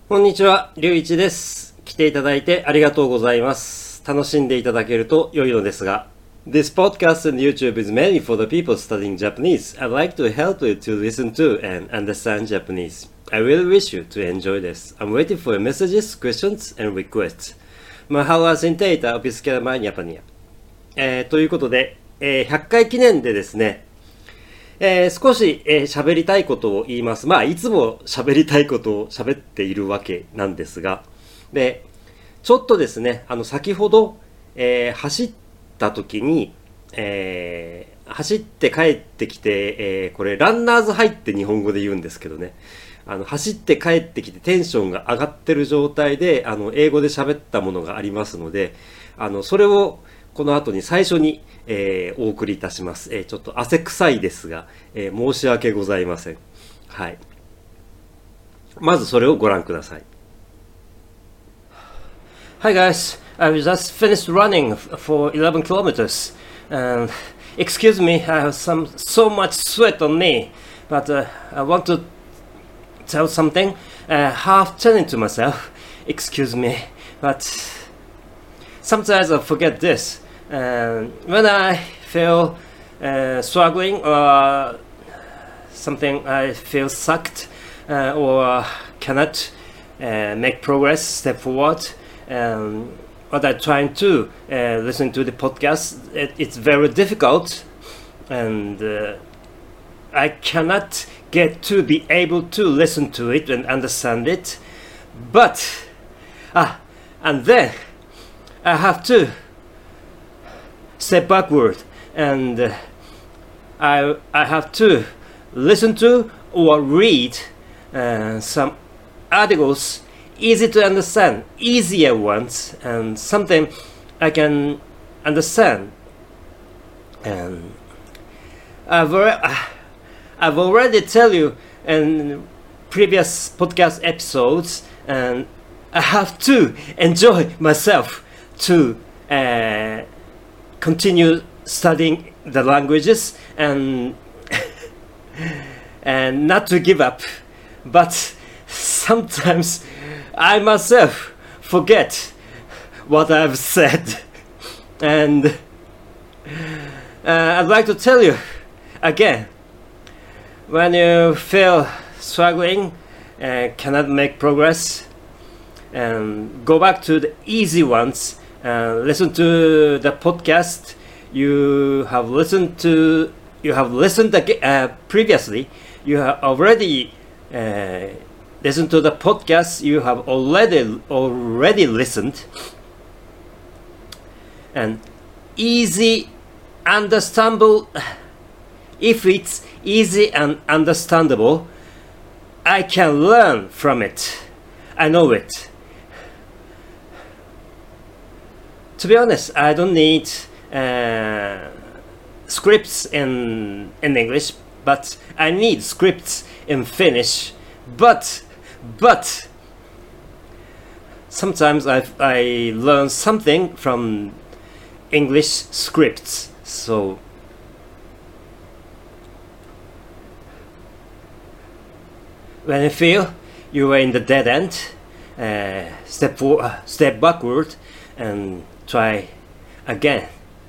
こんにちは、りゅういちです。来ていただいてありがとうございます。楽しんでいただけると良いのですが。This podcast and YouTube is mainly for the people studying Japanese. I'd like to help you to listen to and understand Japanese. I really wish you to enjoy this. I'm waiting for your messages, questions, and requests. Mahalo sentaita opiskela Japania. ということで、100回記念でですね、少し喋りたいことを言います。いつも喋りたいことを喋っているわけなんですが、で、ちょっとですね、先ほど、走った時に、走って帰ってきて、これランナーズハイって日本語で言うんですけどね、走って帰ってきてテンションが上がってる状態で、英語で喋ったものがありますので、それをこの後に最初に、お送りいたします。ちょっと汗臭いですが、申し訳ございません。はい。まずそれをご覧ください。Hi guys, I just finished running for 11 kilometers. And excuse me, I have so much sweat on me, but I want to tell something. Half telling to myself, excuse me, but sometimes I forget this. When I feel struggling or something I feel sucked or cannot make progress, step forward, what I'm trying to listen to the podcast, it's very difficult and I cannot get to be able to listen to it and understand it, but and then I have to step backward and I have to listen to or read some articles, easy to understand, easier ones, and something I can understand. And I've already tell you in previous podcast episodes, and I have to enjoy myself to continue studying the languages and and not to give up. But sometimes I myself forget what I've said, and I'd like to tell you again, when you feel struggling and cannot make progress, and go back to the easy ones. Listen to the podcast you have listened previously. You have already listened to the podcast you have already listened, and easy, understandable. If it's easy and understandable, I can learn from it. I know it. To be honest, I don't need scripts in English, but I need scripts in Finnish. But sometimes I learn something from English scripts. So when you feel you are in the dead end, step backward and try again.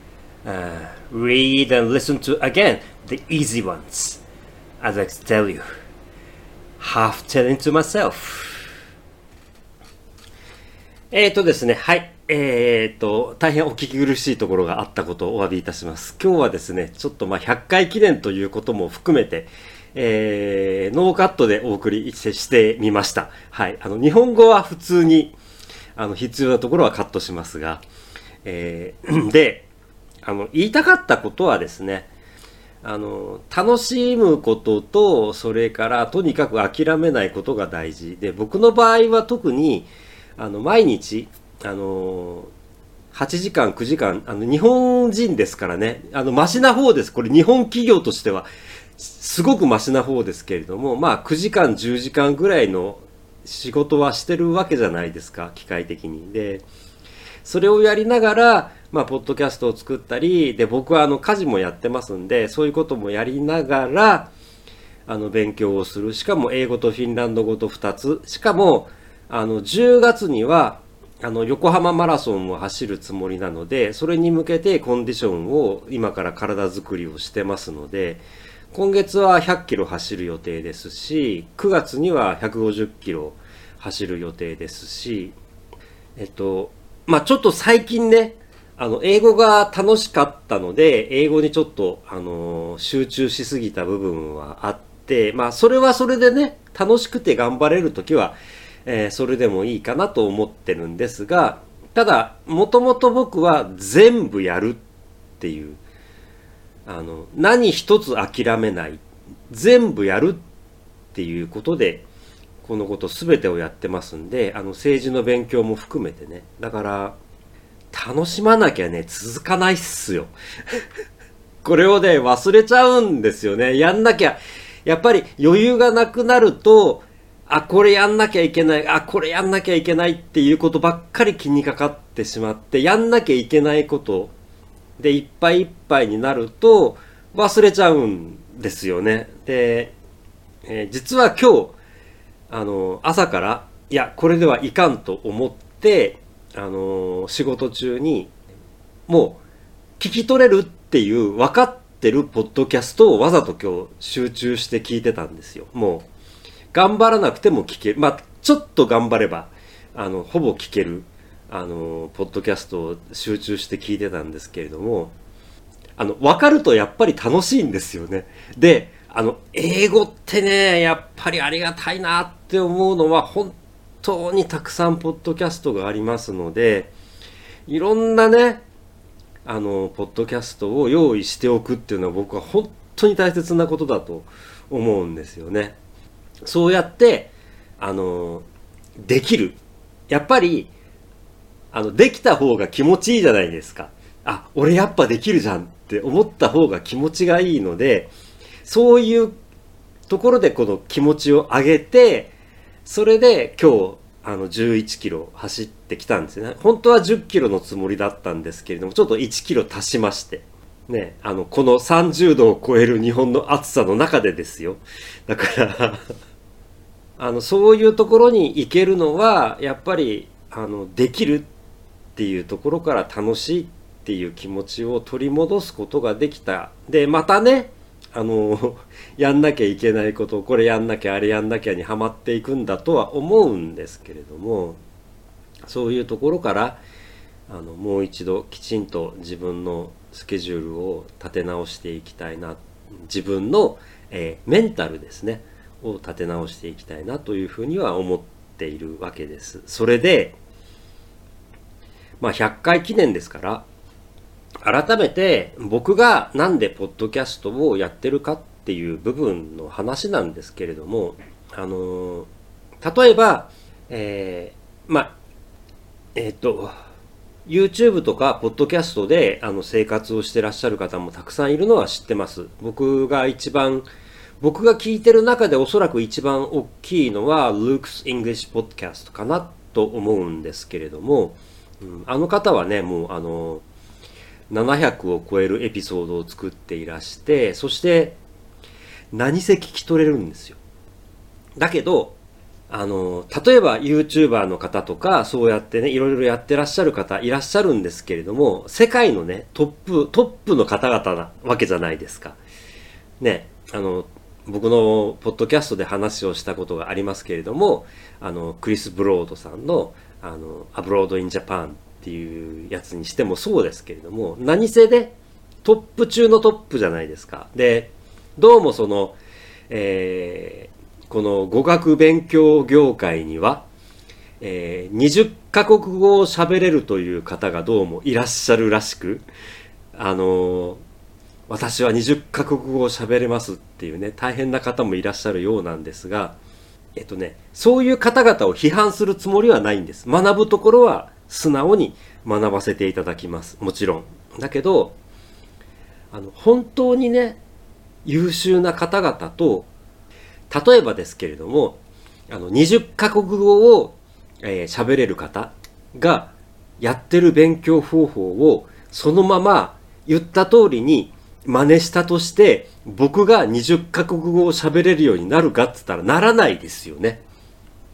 Read and listen to again the easy ones. As I tell you, half telling to myself. ですね、はい。大変お聞き苦しいところがあったことをお詫びいたします。今日はですね、ちょっと100回記念ということも含めて、ノーカットでお送りしてみました。はい。日本語は普通に、必要なところはカットしますが、で、言いたかったことはですね、楽しむことと、それからとにかく諦めないことが大事で、僕の場合は特に毎日8時間9時間日本人ですからね、マシな方です。これ日本企業としてはすごくマシな方ですけれども、9時間10時間ぐらいの仕事はしてるわけじゃないですか、機械的に。で、それをやりながらポッドキャストを作ったりで、僕は家事もやってますんで、そういうこともやりながら勉強をする。しかも英語とフィンランド語と2つ。しかも 10月には横浜マラソンを走るつもりなので、それに向けてコンディションを今から体作りをしてますので、今月は100キロ走る予定ですし、9月には150キロ走る予定ですし、ちょっと最近ね、英語が楽しかったので、英語にちょっと、集中しすぎた部分はあって、それはそれでね、楽しくて頑張れるときは、それでもいいかなと思ってるんですが、ただ、もともと僕は全部やるっていう、何一つ諦めない、全部やるっていうことで、このこと全てをやってますんで、政治の勉強も含めてね、だから、楽しまなきゃね、続かないっすよ。これをね、忘れちゃうんですよね。やんなきゃ、やっぱり余裕がなくなると、これやんなきゃいけない、これやんなきゃいけないっていうことばっかり気にかかってしまって、やんなきゃいけないことでいっぱいいっぱいになると忘れちゃうんですよね。で、実は今日、朝から、いや、これではいかんと思って、仕事中に、もう、聞き取れるっていう分かってるポッドキャストをわざと今日集中して聞いてたんですよ。もう、頑張らなくても聞ける。ちょっと頑張れば、ほぼ聞ける、ポッドキャストを集中して聞いてたんですけれども、分かるとやっぱり楽しいんですよね。で、英語ってね、やっぱりありがたいなって思うのは、本当にたくさんポッドキャストがありますので、いろんなね、ポッドキャストを用意しておくっていうのは僕は本当に大切なことだと思うんですよね。そうやって、できる。やっぱり、できた方が気持ちいいじゃないですか。俺やっぱできるじゃんって思った方が気持ちがいいので、そういうところでこの気持ちを上げて、それで今日、11キロ走ってきたんですよね。本当は10キロのつもりだったんですけれども、ちょっと1キロ足しまして。ね、この30度を超える日本の暑さの中でですよ。だからそういうところに行けるのは、やっぱり、できるっていうところから楽しいっていう気持ちを取り戻すことができた。で、またね、やんなきゃいけないこと、これやんなきゃあれやんなきゃにはまっていくんだとは思うんですけれども、そういうところからもう一度きちんと自分のスケジュールを立て直していきたいな、自分の、メンタルですねを立て直していきたいなというふうには思っているわけです。それで100回記念ですから、改めて僕がなんでポッドキャストをやってるかっていう部分の話なんですけれども、例えば、YouTube とかポッドキャストで生活をしてらっしゃる方もたくさんいるのは知ってます。僕が聞いてる中でおそらく一番大きいのは Luke's English Podcast かなと思うんですけれども、あの方はね、もう700を超えるエピソードを作っていらして、そして何せ聞き取れるんですよ。だけど例えば YouTuber の方とかそうやってね、いろいろやってらっしゃる方いらっしゃるんですけれども、世界のねトップの方々なわけじゃないですかね。僕のポッドキャストで話をしたことがありますけれども、クリス・ブロードさんのアブロード・イン・ジャパンっていうやつにしてもそうですけれども、何せでトップ中のトップじゃないですか。で、どうもこの語学勉強業界には、20カ国語を喋れるという方がどうもいらっしゃるらしく、私は20カ国語を喋れますっていうね、大変な方もいらっしゃるようなんですが、そういう方々を批判するつもりはないんです。学ぶところは素直に学ばせていただきます。もちろん。だけど、本当にね、優秀な方々と、例えばですけれども、20カ国語を喋れる方がやってる勉強方法をそのまま言った通りに真似したとして、僕が20カ国語を喋れるようになるかって言ったらならないですよね。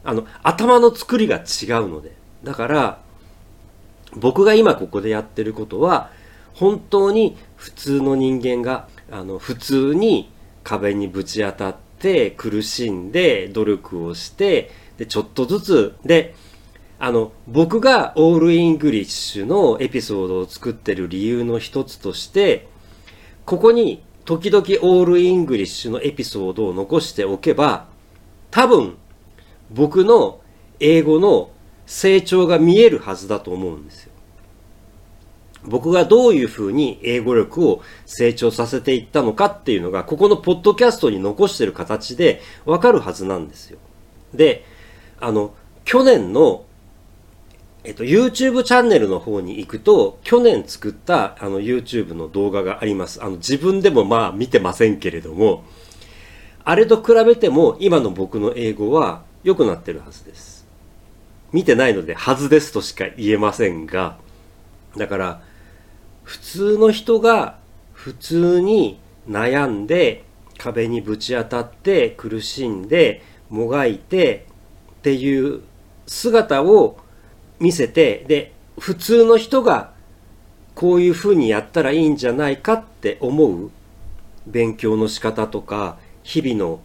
頭の作りが違うので。だから僕が今ここでやってることは本当に普通の人間が普通に壁にぶち当たって苦しんで努力をしてでちょっとずつで僕がオールイングリッシュのエピソードを作ってる理由の一つとしてここに時々オールイングリッシュのエピソードを残しておけば多分僕の英語の成長が見えるはずだと思うんですよ。僕がどういうふうに英語力を成長させていったのかっていうのがここのポッドキャストに残してる形でわかるはずなんですよ。で、去年のYouTube チャンネルの方に行くと去年作ったYouTube の動画があります。自分でもまあ見てませんけれどもあれと比べても今の僕の英語は良くなってるはずです。見てないのではずですとしか言えませんが、だから普通の人が普通に悩んで壁にぶち当たって苦しんでもがいてっていう姿を見せて、で普通の人がこういうふうにやったらいいんじゃないかって思う勉強の仕方とか日々の、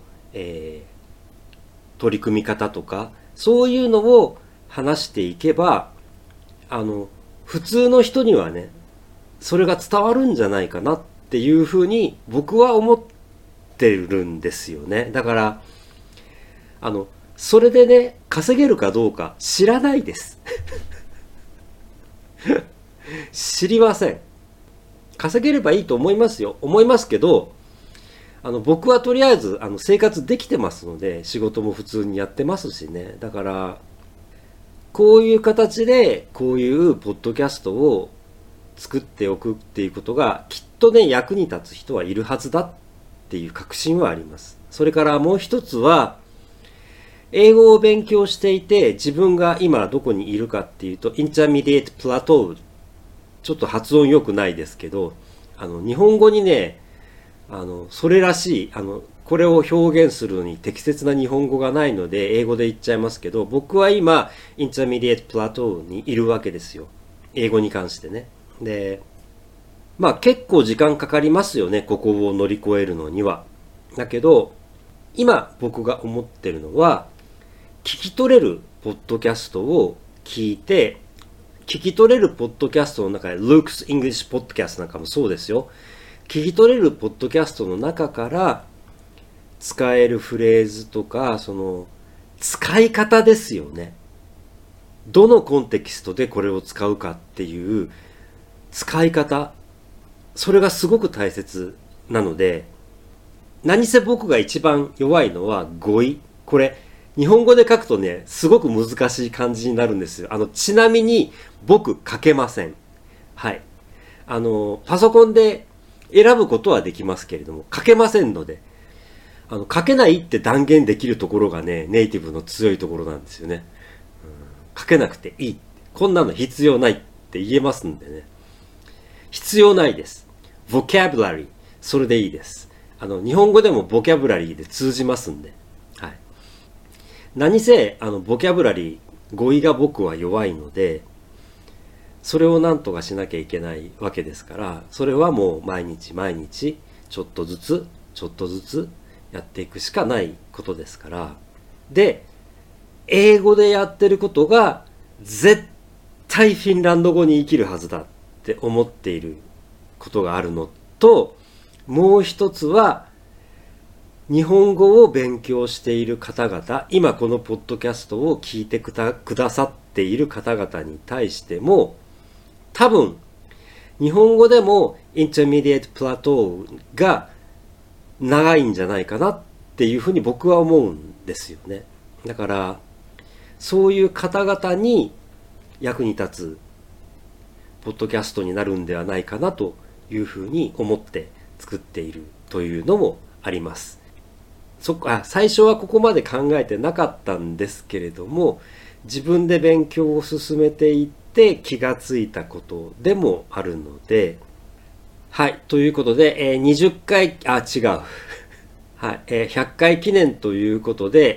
取り組み方とかそういうのを話していけば普通の人にはねそれが伝わるんじゃないかなっていうふうに僕は思ってるんですよね。だからそれでね稼げるかどうか知らないです知りません。稼げればいいと思いますよ。思いますけど僕はとりあえず生活できてますので仕事も普通にやってますしね。だからこういう形でこういうポッドキャストを作っておくっていうことがきっとね役に立つ人はいるはずだっていう確信はあります。それからもう一つは英語を勉強していて自分が今どこにいるかっていうとインターミディエートプラトー、ちょっと発音良くないですけど日本語にねそれらしいこれを表現するのに適切な日本語がないので英語で言っちゃいますけど僕は今インターミディエートプラトーにいるわけですよ。英語に関してね。でまあ結構時間かかりますよねここを乗り越えるのには。だけど今僕が思ってるのは聞き取れるポッドキャストを聞いて聞き取れるポッドキャストの中で Luke's English Podcast なんかもそうですよ。聞き取れるポッドキャストの中から使えるフレーズとかその使い方ですよね。どのコンテキストでこれを使うかっていう使い方、それがすごく大切なので、何せ僕が一番弱いのは語彙。これ日本語で書くとねすごく難しい感じになるんですよ。ちなみに僕書けません。はい。パソコンで選ぶことはできますけれども書けませんので、書けないって断言できるところがねネイティブの強いところなんですよね。書けなくていい、こんなの必要ないって言えますんでね。必要ないです。vocabulary それでいいです。日本語でもボキャブラリーで通じますんで、はい、何せボキャブラリー語彙が僕は弱いのでそれをなんとかしなきゃいけないわけですから、それはもう毎日毎日ちょっとずつちょっとずつやっていくしかないことですから。で英語でやってることが絶対フィンランド語に生きるはずだって思っていることがあるのと、もう一つは日本語を勉強している方々、今このポッドキャストを聞いてくださっている方々に対しても多分日本語でもインターミディエートプラトーが長いんじゃないかなっていうふうに僕は思うんですよね。だからそういう方々に役に立つポッドキャストになるんではないかなというふうに思って作っているというのもあります。最初はここまで考えてなかったんですけれども、自分で勉強を進めていって気がついたことでもあるので、はい、ということで、20回、違う。はい、100回記念ということで、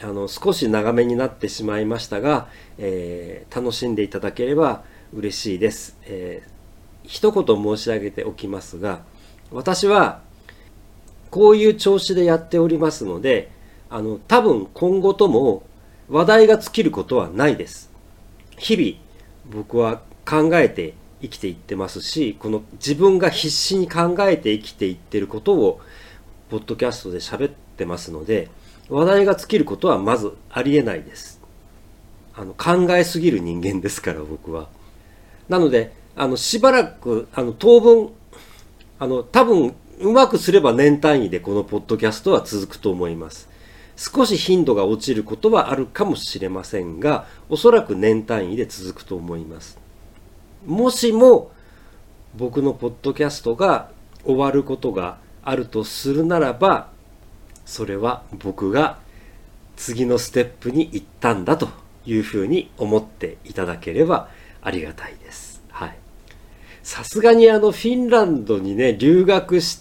少し長めになってしまいましたが、楽しんでいただければ嬉しいです。一言申し上げておきますが、私はこういう調子でやっておりますので、多分今後とも話題が尽きることはないです。日々僕は考えて生きていってますし、この自分が必死に考えて生きていってることをポッドキャストで喋ってますので、話題が尽きることはまずありえないです。考えすぎる人間ですから僕は。なのでしばらく当分多分うまくすれば年単位でこのポッドキャストは続くと思います。少し頻度が落ちることはあるかもしれませんが、おそらく年単位で続くと思います。もしも僕のポッドキャストが終わることがあるとするならば、それは僕が次のステップに行ったんだというふうに思っていただければありがたいです。はい。さすがにフィンランドにね、留学して、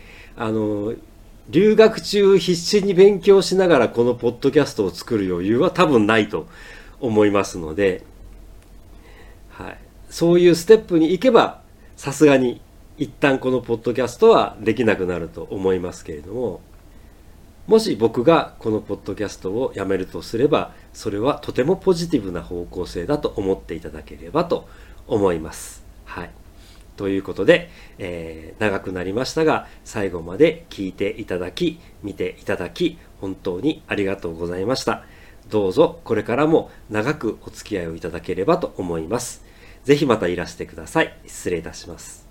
留学中必死に勉強しながらこのポッドキャストを作る余裕は多分ないと思いますので、はい。そういうステップに行けば、さすがに一旦このポッドキャストはできなくなると思いますけれども、もし僕がこのポッドキャストをやめるとすれば、それはとてもポジティブな方向性だと思っていただければと思います。はい。ということで、長くなりましたが、最後まで聞いていただき、見ていただき、本当にありがとうございました。どうぞこれからも長くお付き合いをいただければと思います。ぜひまたいらしてください。失礼いたします。